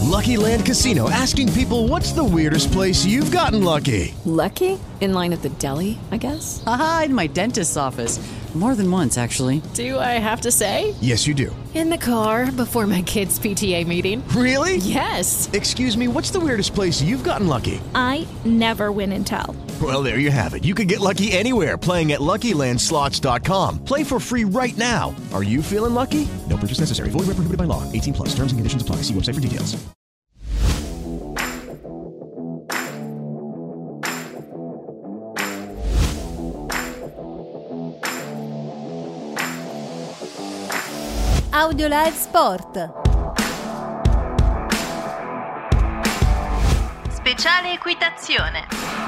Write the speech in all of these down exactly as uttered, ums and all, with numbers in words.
Lucky Land Casino, asking people, what's the weirdest place you've gotten lucky? Lucky? In line at the deli, I guess? Aha, in my dentist's office. More than once, actually. Do I have to say? Yes, you do. In the car before my kids' P T A meeting. Really? Yes. Excuse me, what's the weirdest place you've gotten lucky? I never win and tell. Well, there you have it. You can get lucky anywhere, playing at Lucky Land Slots dot com. Play for free right now. Are you feeling lucky? No purchase necessary. Void where prohibited by law. eighteen plus. Terms and conditions apply. See website for details. Audiolive Sport. Speciale equitazione.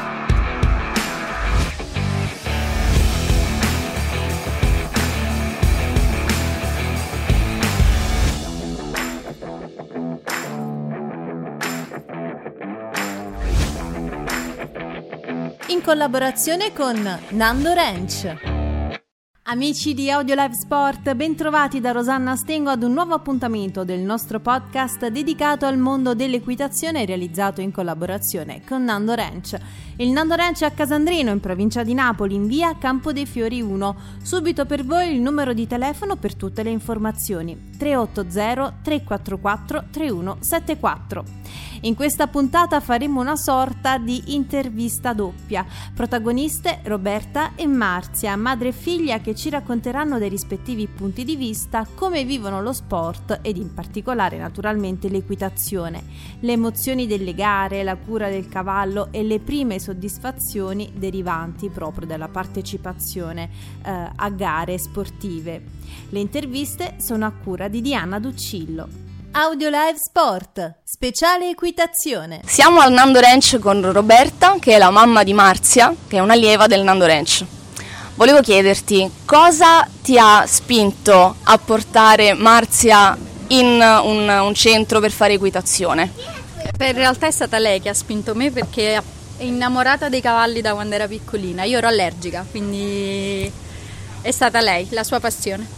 In collaborazione con Nando Ranch. Amici di Audiolive Sport, bentrovati da Rosanna Stengo ad un nuovo appuntamento del nostro podcast dedicato al mondo dell'equitazione realizzato in collaborazione con Nando Ranch. Il Nando Ranch è a Casandrino, in provincia di Napoli, in via Campo dei Fiori uno. Subito per voi il numero di telefono per tutte le informazioni: tre otto zero tre quattro quattro tre uno sette quattro. In questa puntata faremo una sorta di intervista doppia. Protagoniste Roberta e Marzia, madre e figlia, che ci racconteranno dei rispettivi punti di vista, come vivono lo sport ed in particolare naturalmente l'equitazione, le emozioni delle gare, la cura del cavallo e le prime soddisfazioni derivanti proprio dalla partecipazione eh, a gare sportive. Le interviste sono a cura di Diana Duccillo. Audiolive Sport, speciale equitazione. Siamo al Nando Ranch con Roberta, che è la mamma di Marzia, che è un'allieva del Nando Ranch. Volevo chiederti, cosa ti ha spinto a portare Marzia in un, un centro per fare equitazione? Per in realtà è stata lei che ha spinto me, perché è innamorata dei cavalli da quando era piccolina. Io ero allergica, quindi è stata lei, la sua passione.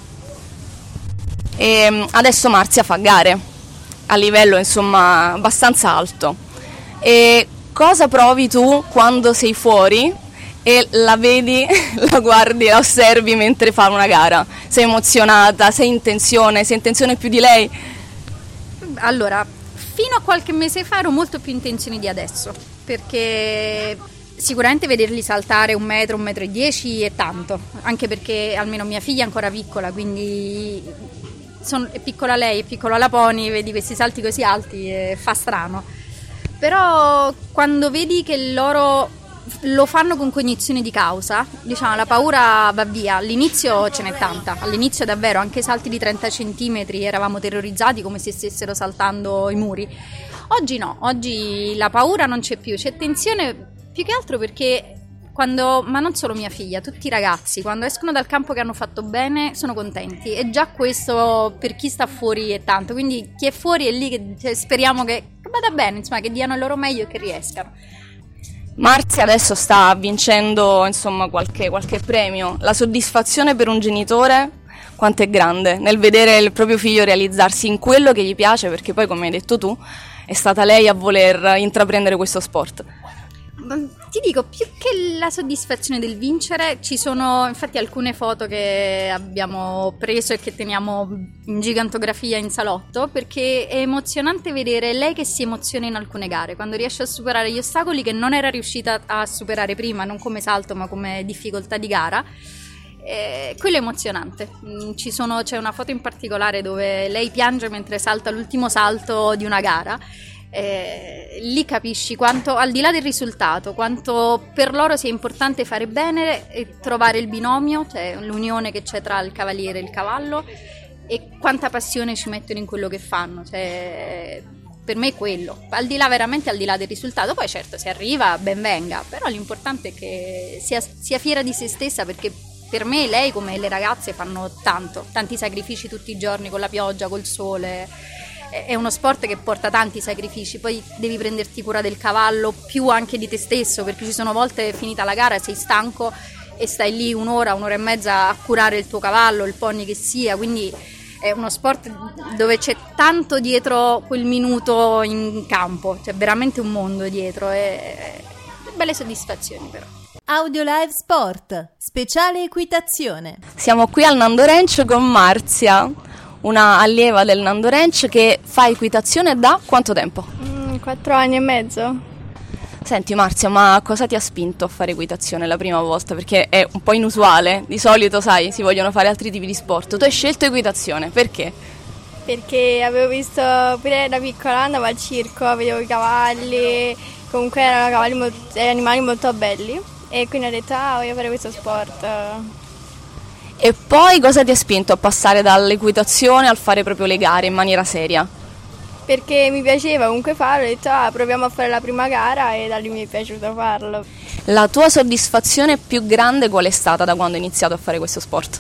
E adesso Marzia fa gare a livello insomma abbastanza alto. E cosa provi tu quando sei fuori e la vedi, la guardi, la osservi mentre fa una gara? Sei emozionata? Sei in tensione? Sei in tensione più di lei? Allora, fino a qualche mese fa ero molto più in tensione di adesso, perché sicuramente vederli saltare un metro, un metro e dieci è tanto, anche perché almeno mia figlia è ancora piccola, quindi Sono, è piccola lei, è piccola la pony, vedi questi salti così alti e fa strano. Però quando vedi che loro lo fanno con cognizione di causa, diciamo, la paura va via. All'inizio ce n'è tanta, all'inizio davvero anche salti di trenta centimetri eravamo terrorizzati come se stessero saltando i muri. Oggi no, oggi la paura non c'è più, c'è tensione più che altro perché quando, ma non solo mia figlia, tutti i ragazzi quando escono dal campo che hanno fatto bene sono contenti, e già questo per chi sta fuori è tanto, quindi chi è fuori è lì che cioè, speriamo che, che vada bene, insomma, che diano il loro meglio e che riescano. Marzia adesso sta vincendo insomma qualche, qualche premio. La soddisfazione per un genitore quanto è grande nel vedere il proprio figlio realizzarsi in quello che gli piace, perché poi, come hai detto tu, è stata lei a voler intraprendere questo sport. Ti dico, più che la soddisfazione del vincere, ci sono infatti alcune foto che abbiamo preso e che teniamo in gigantografia in salotto, perché è emozionante vedere lei che si emoziona in alcune gare, quando riesce a superare gli ostacoli che non era riuscita a superare prima, non come salto ma come difficoltà di gara. Eh, quello è emozionante. Ci sono, c'è una foto in particolare dove lei piange mentre salta l'ultimo salto di una gara. Eh, lì capisci quanto, al di là del risultato, quanto per loro sia importante fare bene e trovare il binomio, cioè l'unione che c'è tra il cavaliere e il cavallo, e quanta passione ci mettono in quello che fanno, cioè, per me è quello, al di là veramente al di là del risultato. Poi certo, se arriva ben venga, però l'importante è che sia, sia fiera di se stessa, perché per me lei, come le ragazze, fanno tanto, tanti sacrifici tutti i giorni, con la pioggia, col sole. È uno sport che porta tanti sacrifici, poi devi prenderti cura del cavallo più anche di te stesso, perché ci sono volte, finita la gara, sei stanco e stai lì un'ora, un'ora e mezza a curare il tuo cavallo, il pony che sia, quindi è uno sport dove c'è tanto dietro quel minuto in campo, c'è veramente un mondo dietro e belle soddisfazioni però. Audiolive Sport, speciale equitazione. Siamo qui al Nando Ranch con Marzia, una allieva del Nando Ranch che fa equitazione da quanto tempo? Mm, quattro anni e mezzo. Senti Marzia, ma cosa ti ha spinto a fare equitazione la prima volta? Perché è un po' inusuale, di solito sai, si vogliono fare altri tipi di sport. Tu hai scelto equitazione, perché? Perché avevo visto pure da piccola, andavo al circo, vedevo i cavalli, comunque erano cavalli molto, animali molto belli e quindi ho detto ah voglio fare questo sport. E poi cosa ti ha spinto a passare dall'equitazione al fare proprio le gare in maniera seria? Perché mi piaceva comunque farlo, ho detto ah proviamo a fare la prima gara e da lì mi è piaciuto farlo. La tua soddisfazione più grande qual è stata da quando hai iniziato a fare questo sport?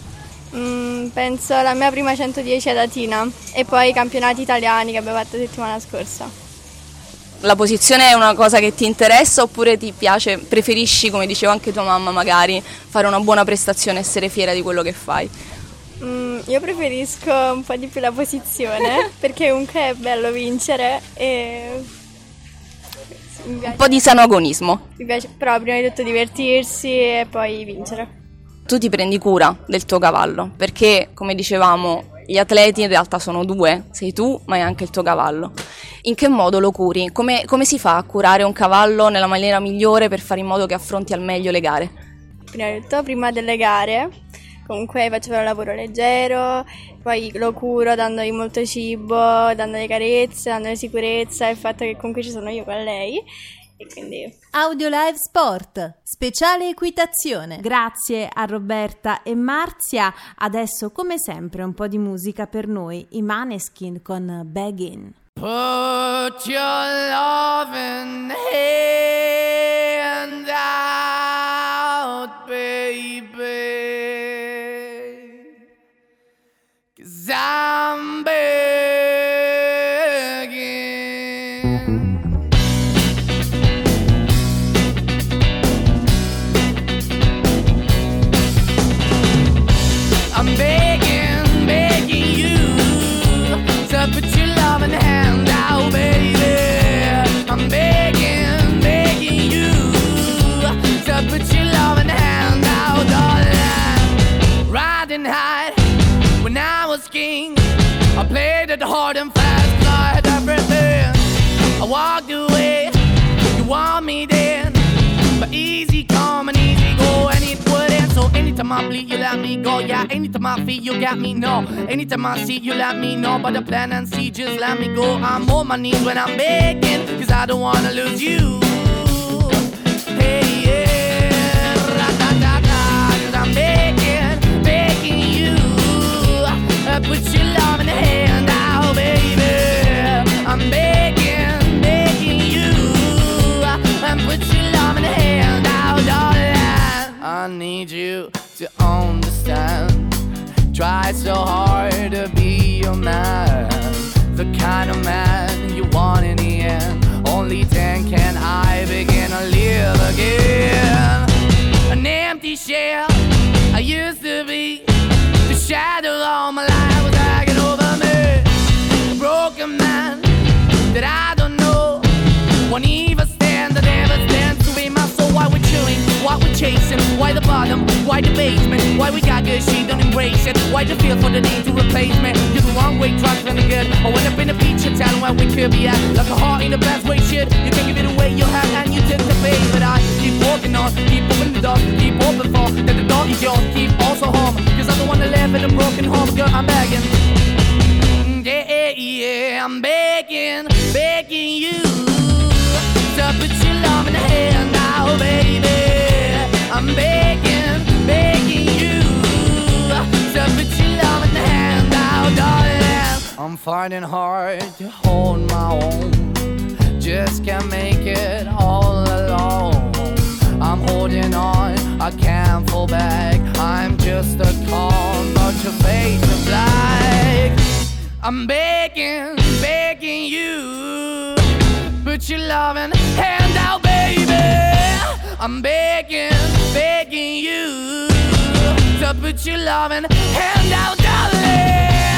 Mm, penso la mia prima centodieci ad Atina e poi i campionati italiani che abbiamo fatto la settimana scorsa. La posizione è una cosa che ti interessa oppure ti piace, preferisci, come diceva anche tua mamma magari, fare una buona prestazione, essere fiera di quello che fai? Mm, io preferisco un po' di più la posizione perché comunque è bello vincere e mi piace. Un po' di sano agonismo. Mi piace però prima di tutto divertirsi e poi vincere. Tu ti prendi cura del tuo cavallo perché, come dicevamo, gli atleti in realtà sono due, sei tu ma è anche il tuo cavallo. In che modo lo curi? Come, come si fa a curare un cavallo nella maniera migliore per fare in modo che affronti al meglio le gare? Prima di tutto, prima delle gare, comunque faccio fare un lavoro leggero, poi lo curo dandogli molto cibo, dandogli carezze, dandogli sicurezza, il fatto che comunque ci sono io con lei. E quindi... Audiolive Sport, speciale equitazione. Grazie a Roberta e Marzia. Adesso, come sempre, un po' di musica per noi, i Maneskin con Beggin'. Put your loving hand out, baby, 'cause I'm begging. I'm begging, begging you to put your loving hand out, baby. I'm begging, begging you to put your loving hand out, darling. Riding high when I was king, I played it hard and fast, 'cause I had everything. I walked away, you want me then, but easy come and easy go, and it wouldn't. So anytime I bleed, you let me go. Yeah, anytime I feel, you got me, no. Anytime I see, you let me know. But the plan and see, just let me go. I'm on my knees when I'm begging, 'cause I don't wanna lose you. Hey, yeah, ra-da-da-da, 'cause I'm begging, begging you. Uh, put your love in the hand out, baby. I'm begging, begging you. Uh, and put your love in the hand out, darling. I need you to understand. Try so hard to be your man, the kind of man you want in the end. Only then can I begin to live again. An empty shell I used to be, the shadow all my life was hanging over me. A broken man that I don't know, won't even stand, that never stands to be my soul. Why we're chewing, why we're chasing, why the bottom, why the basement, why we got good, she don't embrace it, why the feel for the need to replace me. You're the wrong way, trying to good. I went up in a feature town where we could be at, like a heart in the best way, shit. You can give it away, you have, and you take the bait. But I keep walking on, keep opening the door, keep open for, that the door is yours, keep also home, 'cause I don't wanna live in a broken home, girl, I'm begging. Yeah, yeah, yeah, I'm begging, begging you to put your love in the hand now, baby. I'm begging, begging you to put your love in the hand now, darling. I'm finding hard to hold my own, just can't make it all alone. I'm holding on, I can't fall back, I'm just a call, but your face is black. I'm begging, begging you, put your loving hand out, baby. I'm begging, begging you to put your loving hand out, darling.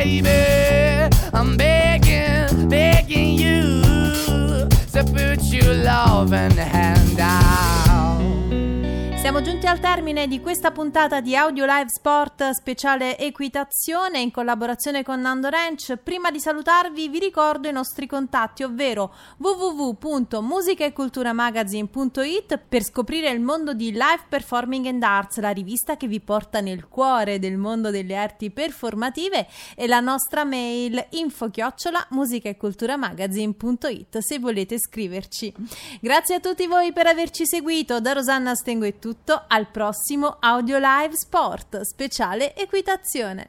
baby. I'm begging, begging you to put your loving hand out. Siamo giunti al termine di questa puntata di Audio Live Sport speciale equitazione in collaborazione con Nando Ranch. Prima di salutarvi vi ricordo i nostri contatti, ovvero w w w punto musica e cultura magazine punto it per scoprire il mondo di Live Performing and Arts, la rivista che vi porta nel cuore del mondo delle arti performative, e la nostra mail info chiocciola musica e cultura magazine punto it se volete scriverci. Grazie a tutti voi per averci seguito. Da Rosanna Stengo è tutto. Al prossimo Audio Live Sport speciale equitazione.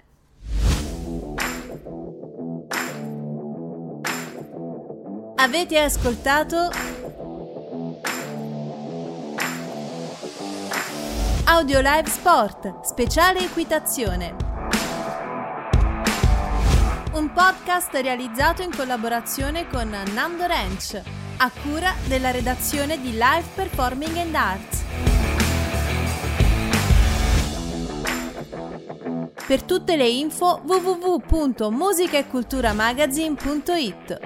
Avete ascoltato Audio Live Sport speciale equitazione, un podcast realizzato in collaborazione con Nando Ranch, a cura della redazione di Live Performing and Arts. Per tutte le info w w w punto musica e cultura magazine punto it.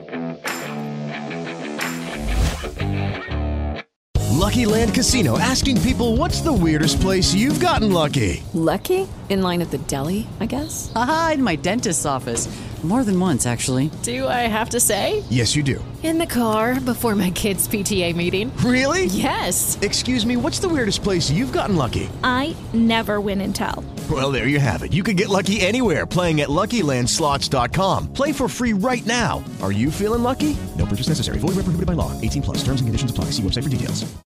Lucky Land Casino, asking people, what's the weirdest place you've gotten lucky? Lucky? In line at the deli, I guess? Aha, in my dentist's office. More than once, actually. Do I have to say? Yes, you do. In the car before my kids' P T A meeting. Really? Yes. Excuse me, what's the weirdest place you've gotten lucky? I never win and tell. Well, there you have it. You can get lucky anywhere, playing at lucky land slots dot com. Play for free right now. Are you feeling lucky? No purchase necessary. Void where prohibited by law. eighteen plus. Terms and conditions apply. See website for details.